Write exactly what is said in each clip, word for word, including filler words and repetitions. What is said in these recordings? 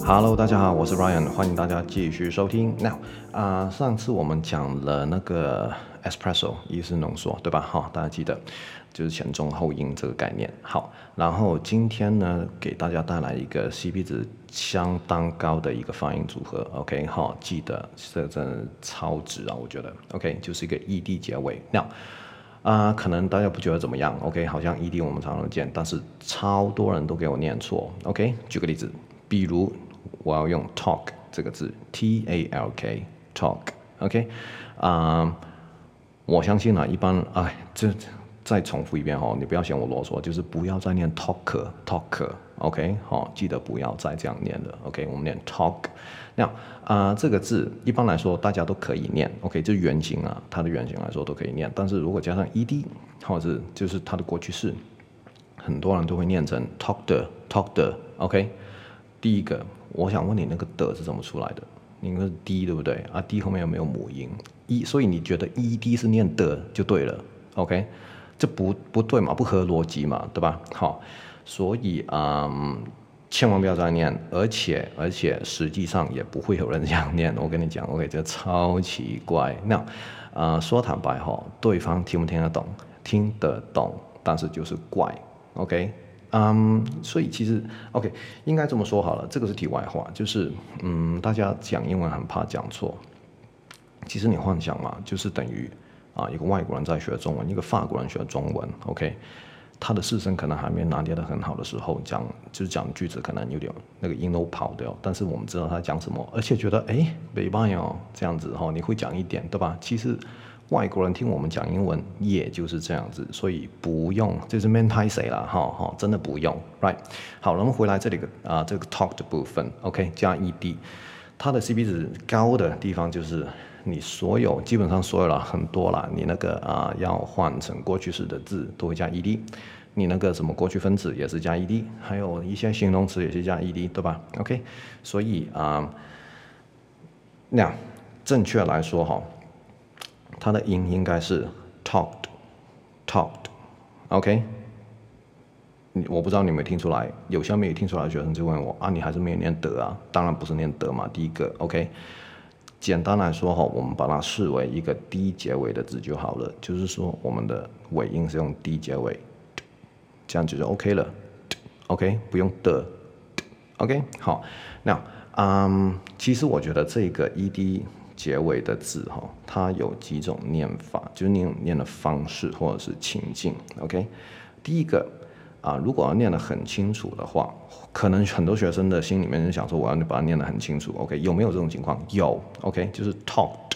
Hello， 大家好，我是 Ryan， 歡迎大家繼續收聽。Now， 啊、呃，上次我們講了那個 espresso 意式濃縮，對吧？好，大家記得就是前中後音這個概念。好，然後今天呢，給大家帶來一個 C P 值相當高的一個發音組合。OK， 好，記得這真的超值啊，我覺得。OK， 就是一個 E D 結尾。Now，啊、呃，可能大家不覺得怎麼樣 ？OK， 好像 E D 我們常常見，但是超多人都給我念錯。OK， 舉個例子，比如。我要用 talk 這個字 ，T A L K talk，OK， 啊、呃，我相信啊，一般哎，這再重複一遍哈，你不要嫌我囉嗦，就是不要再念 talker talker，OK， 好，記得不要再這樣念了 ，OK， 我們念 talk。那啊，這個字一般來說大家都可以念 ，OK， 就原型啊，它的原型來說都可以念，但是如果加上 ed 或者是就是它的過去式，很多人都會念成 talked talked，OK。第一個，我想問你那個的是怎麼出來的？你那個 d 對不對？啊 d 後面有沒有母音？一，所以你覺得 ed 是念的就對了 ，OK？ 這不不對嘛，不合邏輯嘛，對吧？好，所以嗯，千萬不要再念，而且而且實際上也不會有人這樣念。我跟你講 ，OK， 這超奇怪。那啊、呃，說坦白哈，對方聽不聽得懂？聽得懂，但是就是怪 ，OK？嗯、um, 所以其實 OK 應該這麼說好了，這個是題外話，就是嗯，大家講英文很怕講錯。其實你幻想嘛，就是等於啊，一個外國人在學中文，一個法國人學中文 ，OK， 他的四聲可能還沒拿捏得很好的時候，講就是講句子可能有點那個音都跑掉，但是我們知道他講什麼，而且覺得哎，沒辦法哦，這樣子哈、哦，你會講一點，對吧？其實。外國人聽我們講英文，也就是這樣子，所以不用，就是免拍誰啦，哈哈，真的不用 ，right？ 好，我們回來這裡個啊、呃，這個 talk 的部分 ，OK， 加 ed， 它的 C P 值高的地方就是你所有基本上所有了很多啦，你那個啊、呃、要換成過去式的字都會加 ed， 你那個什麼過去分詞也是加 ed， 還有一些形容詞也是加 ed， 對吧 ？OK， 所以啊、呃，那正確來說哈。它的音應該是 talked，talked，OK， 我不知道你有沒有聽出來，有些沒有聽出來的學生就問我啊，你還是沒有念德啊？當然不是念德嘛，第一個 OK。簡單來說哈，我們把它視為一個 D 結尾的字就好了，就是說我們的尾音是用 D 結尾，這樣子就 OK 了 ，OK， 不用的 ，OK， 好，那嗯，其實我覺得這個 ed。結尾的字哈，它有幾種念法，就是念念的方式或者是情境。OK， 第一個啊，如果要念得很清楚的話，可能很多學生的心裡面就想說，我要把它念得很清楚。OK， 有沒有這種情況？有。OK， 就是 talked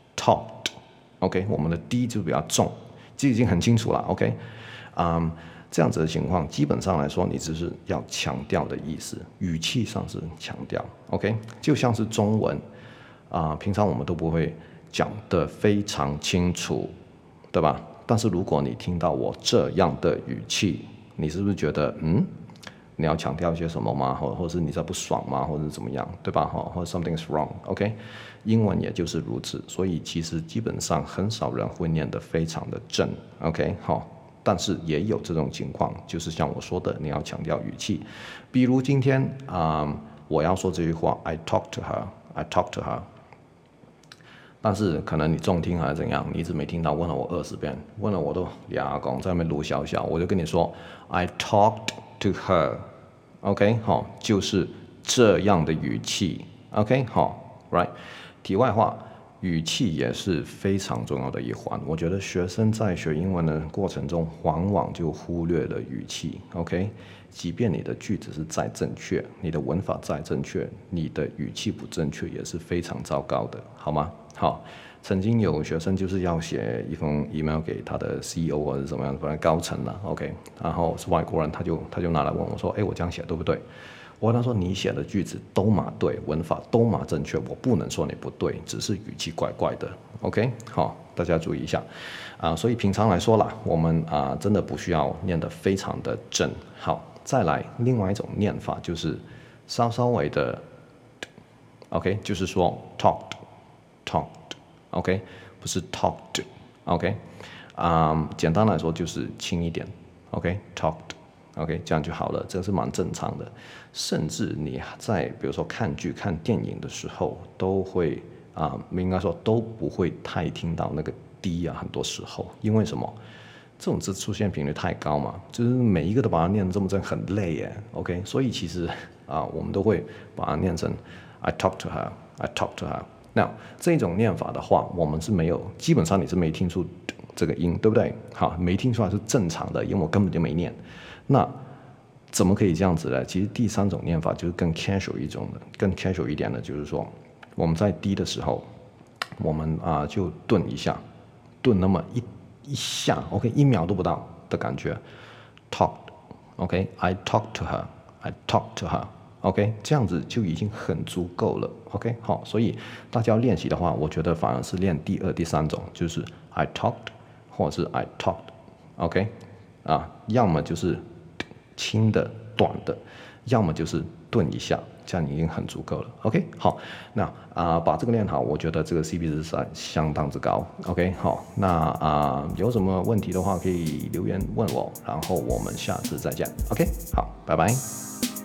talked。OK， 我們的 D 就比較重，這已經很清楚了。OK， 啊、嗯，這樣子的情況，基本上來說，你只是要強調的意思，語氣上是強調。OK， 就像是中文。啊、呃，平常我們都不會講得非常清楚，對吧？但是如果你聽到我這樣的語氣，你是不是覺得，嗯，你要強調一些什麼嗎？或或者是你在不爽嗎？或者是怎麼樣，對吧？哈，或者 something's wrong，OK？、Okay? 英文也就是如此，所以其實基本上很少人會念得非常的正 ，OK？ 好，但是也有這種情況，就是像我說的，你要強調語氣。比如今天啊、呃，我要說這句話 ，I talk to her，I talk to her。但是可能你重聽還是怎樣，你一直沒聽到，問了我二十遍，問了我都啞公在那邊盧小小，我就跟你說 I talked to her，OK， 好，就是這樣的語氣 ，OK， 好 ，right。題外話，語氣也是非常重要的一環，我覺得學生在學英文的過程中，往往就忽略了語氣 ，OK。即便你的句子是再正確，你的文法再正確，你的語氣不正確也是非常糟糕的，好嗎？好，曾經有學生就是要寫一封 email 給他的 C E O 或者怎麼樣，反正高層了 ，OK， 然後是外國人，他就他就拿來問我說，哎，我這樣寫對不對？我跟他說，你寫的句子都碼對，文法都碼正確，我不能說你不對，只是語氣怪怪的 ，OK， 好，大家注意一下啊、呃。所以平常來說啦，我們啊、呃、真的不需要念得非常的正。好，再來另外一種念法就是稍稍微的 ，OK， 就是說 talked，talked，OK， 不是 talked，OK， 啊、呃，簡單來說就是輕一點 ，OK，talked。 OK， 這樣就好了，這是蠻正常的。甚至你在比如說看劇、看電影的時候，都會啊，應該說都不會太聽到那個 D 啊，很多時候，因為什麼？這種字出現頻率太高嘛，就是每一個都把它念得這麼正，很累耶。OK， 所以其實啊，我們都會把它念成 I talk to her, I talk to her。那這種念法的話，我們是沒有，基本上你是沒聽出這個音，對不對？好，沒聽出來是正常的，因為我根本就沒念。那怎麼可以這樣子呢？其實第三種念法就是更 casual 一種的，更 casual 一點的，就是說我們在低的時候，我們啊就頓一下，頓那麼一一下 ，OK， 一秒都不到的感覺 ，talk，OK，I talk to her，I talk to her，OK， 這樣子就已經很足夠了 ，OK， 好，所以大家要練習的話，我覺得反而是練第二、第三種，就是 I talked 或者是 I talked，OK， 啊，要麼就是輕的、短的，要麼就是頓一下，這樣已經很足夠了。OK， 好，那啊、呃、把這個練好，我覺得這個 C P 值是相當之高。OK， 好，那啊、呃、有什麼問題的話可以留言問我，然後我們下次再見。OK，好，拜拜。